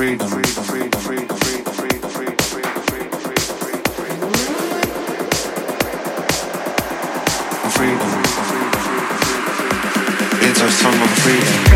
freedom. It's our song of freedom.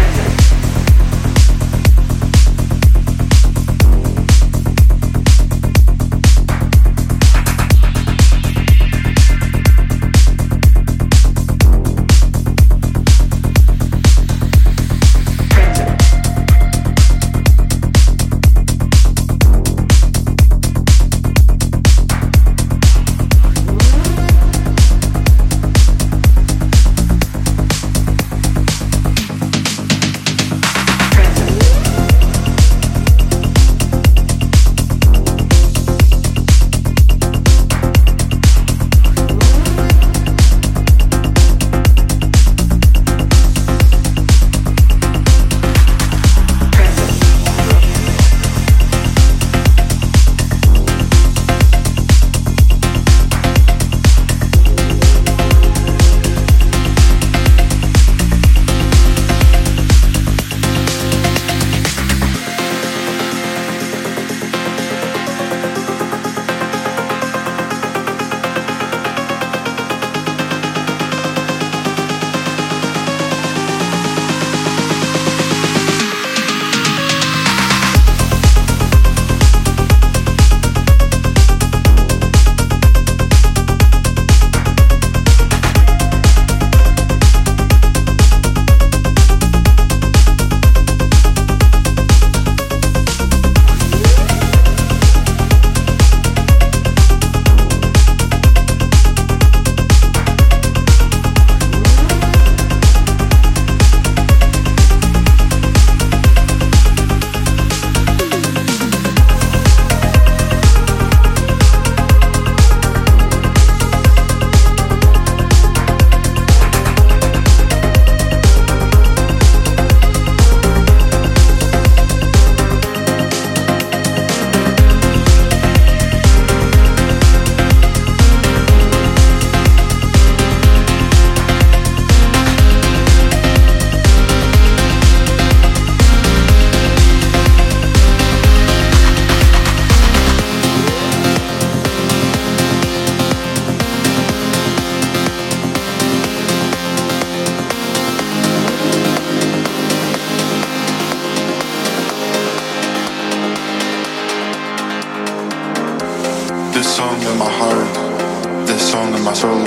This song in my heart, this song in my soul,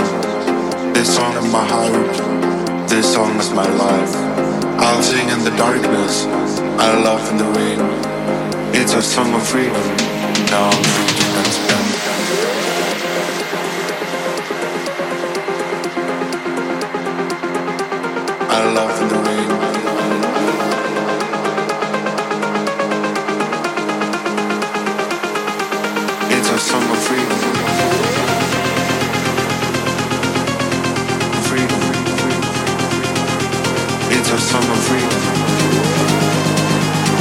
this song in my heart, this song is my life. I'll sing in the darkness, I'll laugh in the rain. It's a song of freedom, now I'm free to expand. I'll laugh in the rain. It's a song of freedom. Freedom. It's a song of freedom.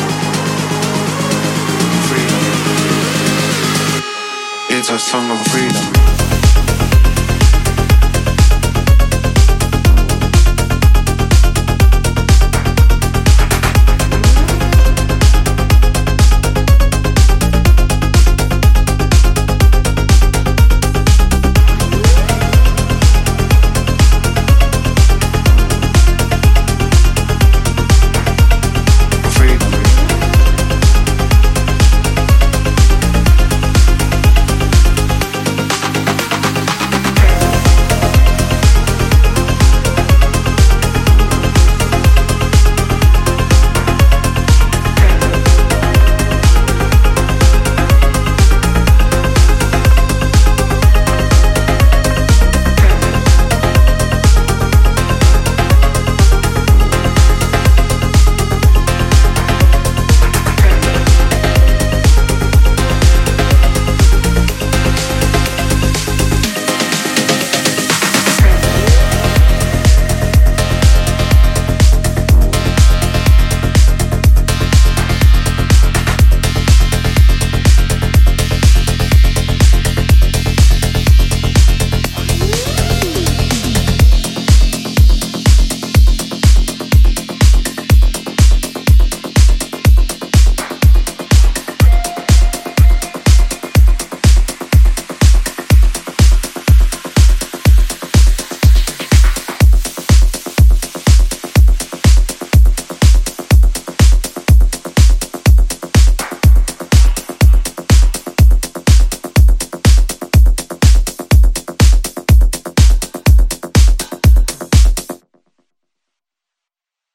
Freedom. It's a song of freedom.